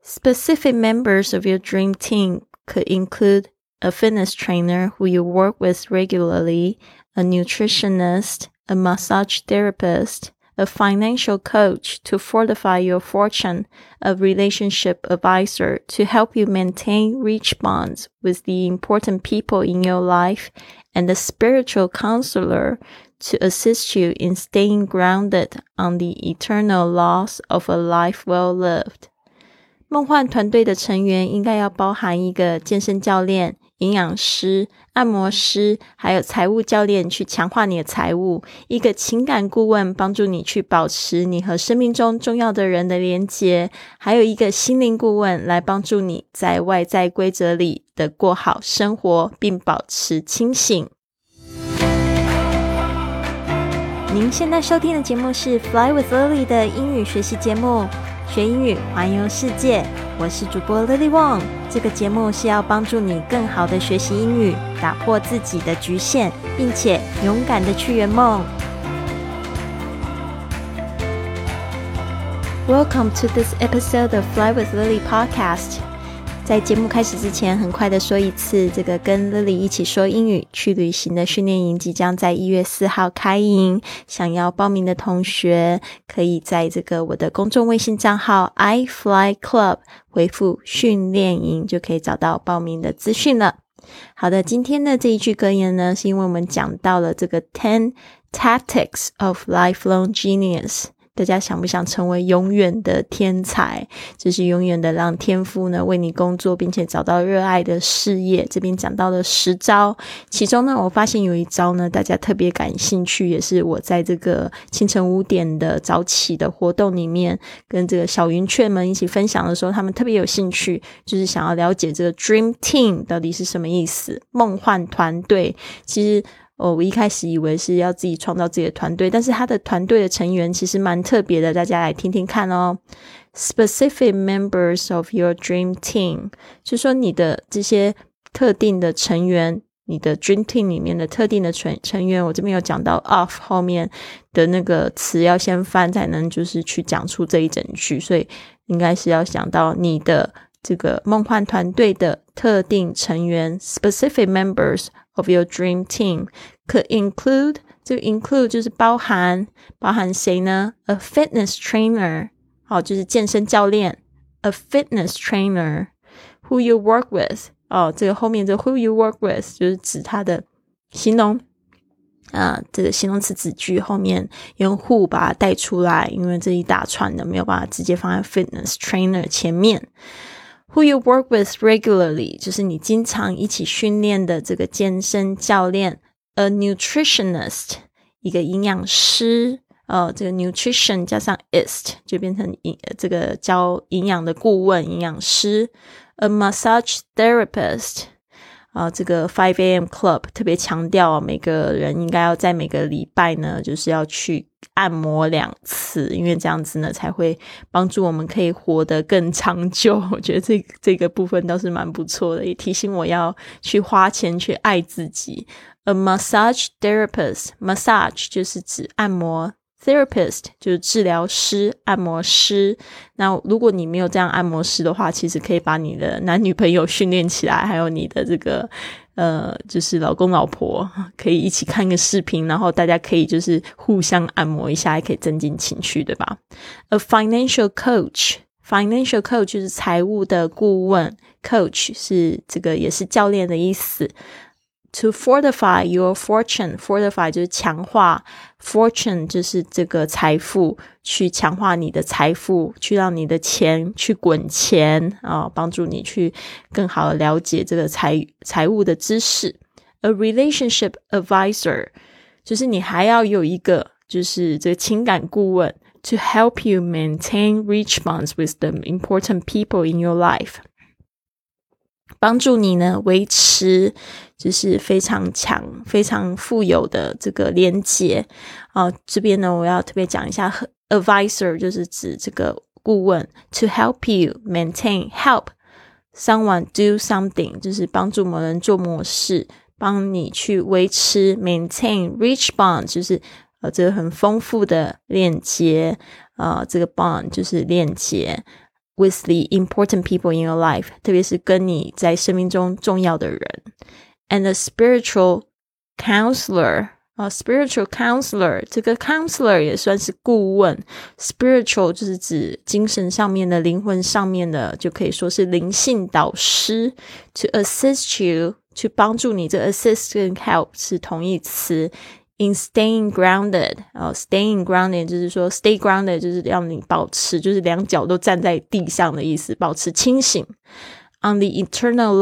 Specific members of your dream team could include a fitness trainer who you work with regularly, a nutritionist, a massage therapist, a financial coach to fortify your fortune, a relationship advisor to help you maintain rich bonds with the important people in your life, and a spiritual counselor to assist you in staying grounded on the eternal laws of a life well lived. 梦幻团队的成员应该要包含一个健身教练、营养师、按摩师，还有财务教练去强化你的财务，一个情感顾问帮助你去保持你和生命中重要的人的连结，还有一个心灵顾问来帮助你在外在规则里的过好生活，并保持清醒。您现在收听的节目是 Fly with Lily 的英语学习节目，学英语环游世界，我是主播 Lily Wong。这个节目是要帮助你更好的学习英语，打破自己的局限，并且勇敢的去圆梦。Welcome to this episode of Fly with Lily podcast。在节目开始之前，很快的说一次，这个跟 Lily 一起说英语去旅行的训练营即将在1月4号开营，想要报名的同学可以在这个我的公众微信账号 iFlyClub 回复训练营，就可以找到报名的资讯了。好的，今天的这一句格言呢，是因为我们讲到了这个 10 Tactics of Lifelong Genius。大家想不想成为永远的天才，就是永远的让天赋呢为你工作，并且找到热爱的事业。这边讲到了10招，其中呢我发现有一招呢大家特别感兴趣，也是我在这个清晨5点的早起的活动里面跟这个小云雀们一起分享的时候，他们特别有兴趣，就是想要了解这个 Dream Team 到底是什么意思，梦幻团队。其实我一开始以为是要自己创造自己的团队，但是他的团队的成员其实蛮特别的，大家来听听看哦。Specific members of your dream team， 就是说你的这些特定的成员，你的 dream team 里面的特定的成员，我这边有讲到 of 后面的那个词要先翻才能就是去讲出这一整句，所以应该是要想到你的这个梦幻团队的特定成员 specific members of your dream team could include， 这个 include 就是包含谁呢？ A fitness trainer， 好，就是健身教练 A fitness trainer who you work with， 这个后面这 who you work with 就是指他的形容这个形容词子句后面用 who 把它带出来，因为这一大串的没有办法直接放在 fitness trainer 前面。Who you work with regularly 就是你经常一起训练的这个健身教练。A nutritionist 一个营养师这个 nutrition 加上 ist 就变成这个教营养的顾问营养师。A massage therapist这个 5am club 特别强调每个人应该要在每个礼拜呢就是要去按摩2次，因为这样子呢才会帮助我们可以活得更长久。我觉得这个部分倒是蛮不错的，也提醒我要去花钱去爱自己。A massage therapist， massage 就是指按摩， therapist 就是治疗师按摩师。那如果你没有这样按摩师的话，其实可以把你的男女朋友训练起来，还有你的这个就是老公老婆可以一起看个视频，然后大家可以就是互相按摩一下，还可以增进情趣，对吧？ A financial coach， financial coach 就是财务的顾问， coach 是这个也是教练的意思。To fortify your fortune， fortify 就是强化， fortune 就是这个财富，去强化你的财富，去让你的钱去滚钱帮助你去更好的了解这个财务的知识。A relationship advisor 就是你还要有一个就是这个情感顾问 to help you maintain rich bonds with the important people in your life，帮助你呢维持就是非常强非常富有的这个连结这边呢我要特别讲一下 advisor 就是指这个顾问 to help you maintain help someone do something 就是帮助某人做某事，帮你去维持 maintain rich bond 就是这个很丰富的链接这个 bond 就是链接 with the important people in your life, 特别是跟你在生命中重要的人。And a spiritual counselor,spiritual counselor, 这个 counselor 也算是顾问， spiritual 就是指精神上面的，灵魂上面的，就可以说是灵性导师。To assist you, 去帮助你，这 assist 跟 help 是同义词。In staying grounded, staying grounded 就是说 stay grounded 就是让你保持，就是两脚都站在地上的意思，保持清醒。On the eternal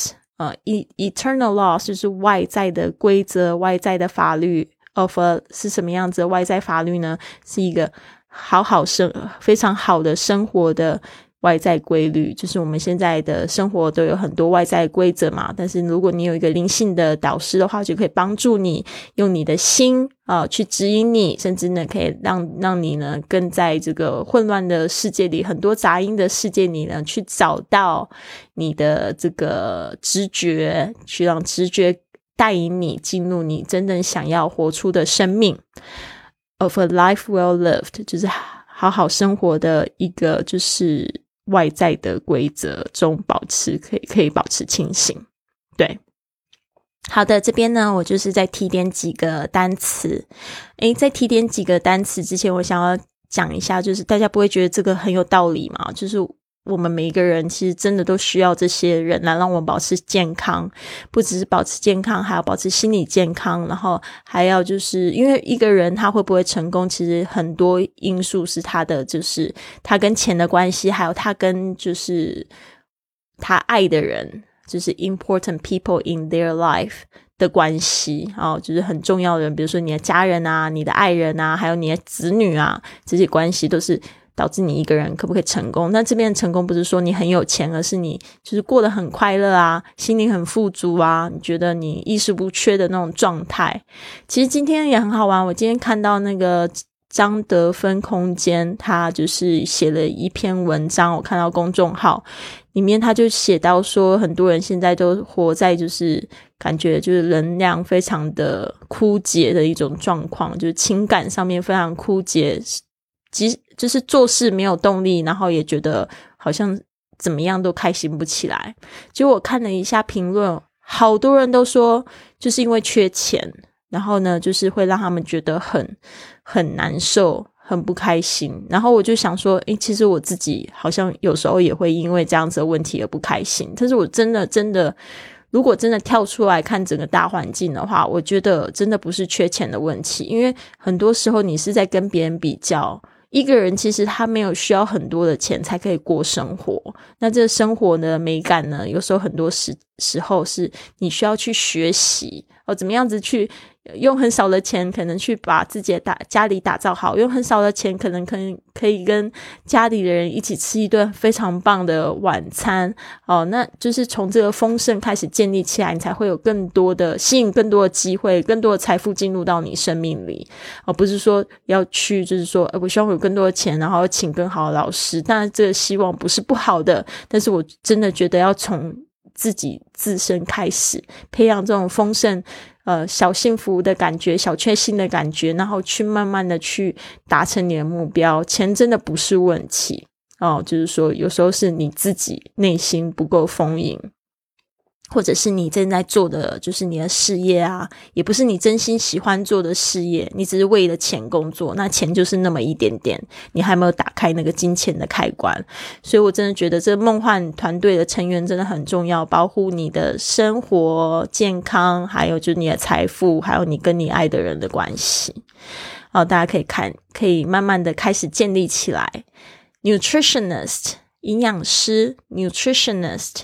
laws,eternal laws 就是外在的规则，外在的法律。of a 是什么样子的外在法律呢？是一个非常好的生活的外在规律，就是我们现在的生活都有很多外在规则嘛，但是如果你有一个灵性的导师的话，就可以帮助你用你的心去指引你，甚至呢可以让你呢更在这个混乱的世界里，很多杂音的世界里呢，去找到你的这个直觉，去让直觉带引你进入你真正想要活出的生命。Of a life well lived 就是好好生活的一个就是外在的规则中可以保持清醒。对，好的，这边呢我就是再提点几个单词。在提点几个单词之前，我想要讲一下，就是大家不会觉得这个很有道理吗？就是我们每一个人其实真的都需要这些人来让我们保持健康，不只是保持健康，还要保持心理健康，然后还要就是因为一个人他会不会成功，其实很多因素是他的就是他跟钱的关系，还有他跟就是他爱的人，就是 important people in their life 的关系就是很重要的人，比如说你的家人啊，你的爱人啊，还有你的子女啊，这些关系都是导致你一个人可不可以成功。那这边的成功不是说你很有钱，而是你就是过得很快乐啊，心灵很富足啊，你觉得你衣食不缺的那种状态。其实今天也很好玩，我今天看到那个张德芬空间，他就是写了一篇文章，我看到公众号里面他就写到说，很多人现在都活在就是感觉就是能量非常的枯竭的一种状况，就是情感上面非常枯竭，就是做事没有动力，然后也觉得好像怎么样都开心不起来。结果我看了一下评论，好多人都说就是因为缺钱，然后呢就是会让他们觉得很难受，很不开心。然后我就想说其实我自己好像有时候也会因为这样子的问题而不开心。但是我真的如果真的跳出来看整个大环境的话，我觉得真的不是缺钱的问题，因为很多时候你是在跟别人比较。一个人其实他没有需要很多的钱才可以过生活，那这个生活的美感呢，有时候很多时候是你需要去学习怎么样子去用很少的钱可能去把自己的家里打造好，用很少的钱可能可以跟家里的人一起吃一顿非常棒的晚餐那就是从这个丰盛开始建立起来，你才会有吸引更多的机会，更多的财富进入到你生命里不是说要去就是说我希望有更多的钱然后请更好的老师，当然这个希望不是不好的，但是我真的觉得要从自身开始培养这种丰盛小幸福的感觉，小确幸的感觉，然后去慢慢的去达成你的目标。钱真的不是问题就是说有时候是你自己内心不够丰盈，或者是你正在做的就是你的事业啊，也不是你真心喜欢做的事业，你只是为了钱工作，那钱就是那么一点点，你还没有打开那个金钱的开关。所以我真的觉得这个梦幻团队的成员真的很重要，保护你的生活健康，还有就是你的财富，还有你跟你爱的人的关系大家可以慢慢的开始建立起来。 Nutritionist 营养师， Nutritionist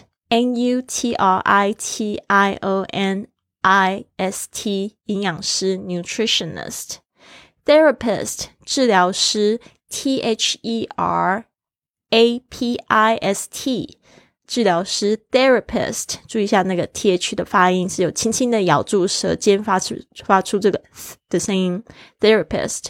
N-U-T-R-I-T-I-O-N-I-S-T 营养师 Nutritionist。 Therapist 治疗师 T-H-E-R-A-P-I-S-T 治疗师 Therapist， 注意一下那个 TH 的发音是有轻轻的咬住舌尖发出这个的声音 Therapist。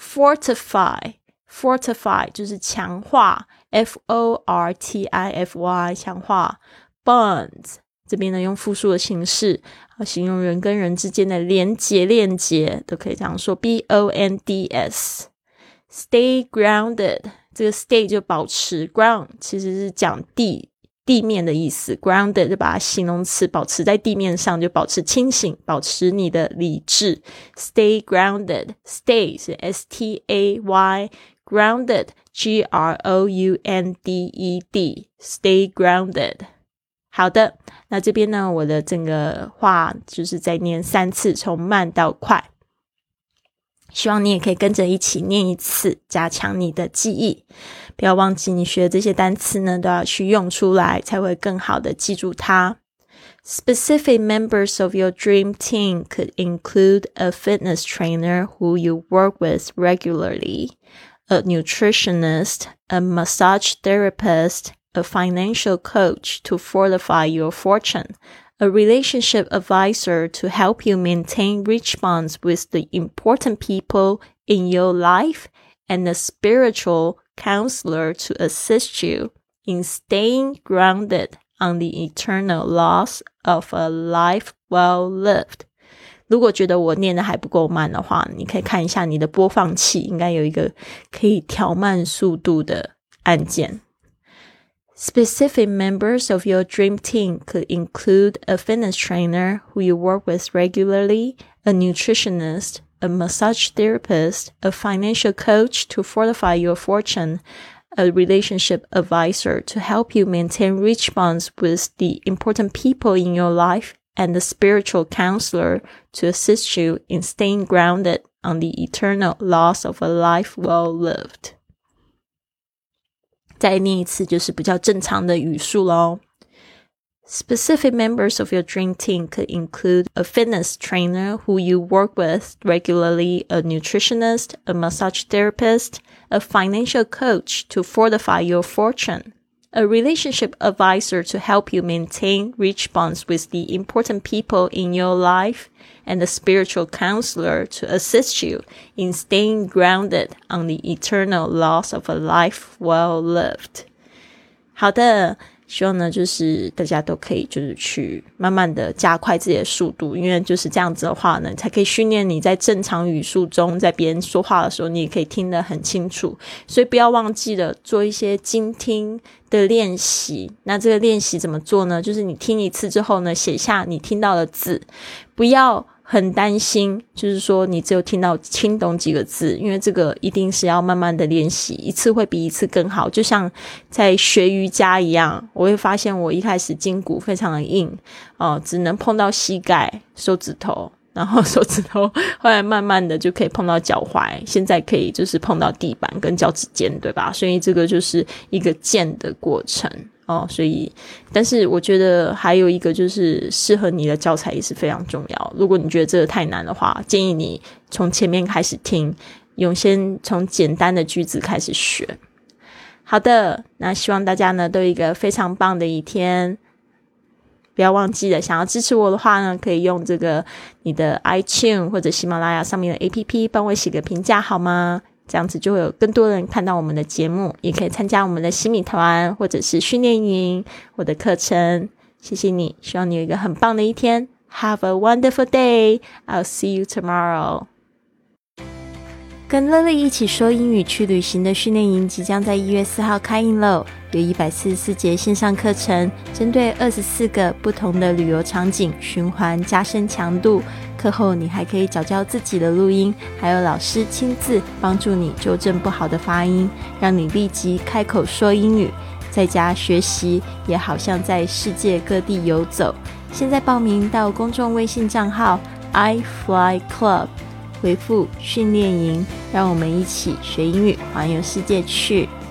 Fortify 就是强化 F-O-R-T-I-F-Y 强化。Bonds 这边呢用复数的形式形容人跟人之间的链接都可以这样说 B-O-N-D-S。 Stay grounded 这个 stay 就保持， ground 其实是讲地面的意思， grounded 就把它形容词保持在地面上，就保持清醒，保持你的理智。 Stay grounded， stay 是 S-T-A-Y， grounded G-R-O-U-N-D-E-D， stay grounded。 好的，那这边呢，我的整个话就是再念3次，从慢到快，希望你也可以跟着一起念一次，加强你的记忆。不要忘记你学的这些单词呢，都要去用出来，才会更好的记住它。Specific members of your dream team could include a fitness trainer who you work with regularly, a nutritionist, a massage therapist, a financial coach to fortify your fortune, a relationship advisor to help you maintain rich bonds with the important people in your life, and a spiritual counselor to assist you in staying grounded on the eternal laws of a life well lived。 如果觉得我念的还不够慢的话，你可以看一下你的播放器，应该有一个可以调慢速度的按键。Specific members of your dream team could include a fitness trainer who you work with regularly, a nutritionist, a massage therapist, a financial coach to fortify your fortune, a relationship advisor to help you maintain rich bonds with the important people in your life, and a spiritual counselor to assist you in staying grounded on the eternal laws of a life well lived。 再念一次，就是比较正常的语速咯。Specific members of your dream team could include a fitness trainer who you work with regularly, a nutritionist, a massage therapist, a financial coach to fortify your fortune, a relationship advisor to help you maintain rich bonds with the important people in your life, and a spiritual counselor to assist you in staying grounded on the eternal laws of a life well lived。 好的，希望呢就是大家都可以就是去慢慢的加快自己的速度，因为就是这样子的话呢，才可以训练你在正常语速中，在别人说话的时候你也可以听得很清楚。所以不要忘记了做一些精听的练习。那这个练习怎么做呢？就是你听一次之后呢，写下你听到的字，不要很担心就是说你只有听懂几个字，因为这个一定是要慢慢的练习，一次会比一次更好。就像在学瑜伽一样，我会发现我一开始筋骨非常的硬只能碰到膝盖手指头，然后手指头后来慢慢的就可以碰到脚踝，现在可以就是碰到地板跟脚趾尖，对吧？所以这个就是一个渐的过程所以但是我觉得还有一个就是适合你的教材也是非常重要。如果你觉得这个太难的话，建议你从前面开始听，先从简单的句子开始学。好的，那希望大家呢都有一个非常棒的一天。不要忘记了，想要支持我的话呢，可以用这个你的 iTunes 或者喜马拉雅上面的 APP 帮我写个评价好吗？这样子就会有更多人看到我们的节目，也可以参加我们的新米团或者是训练营我的课程。谢谢你，希望你有一个很棒的一天。Have a wonderful day. I'll see you tomorrow. 跟 Lily 一起说英语去旅行的训练营即将在1月4号开营喽，有144节线上课程，针对24个不同的旅游场景循环加深强度。课后你还可以缴交自己的录音，还有老师亲自帮助你纠正不好的发音，让你立即开口说英语。在家学习也好像在世界各地游走。现在报名到公众微信账号 iFlyClub， 回复训练营，让我们一起学英语环游世界去。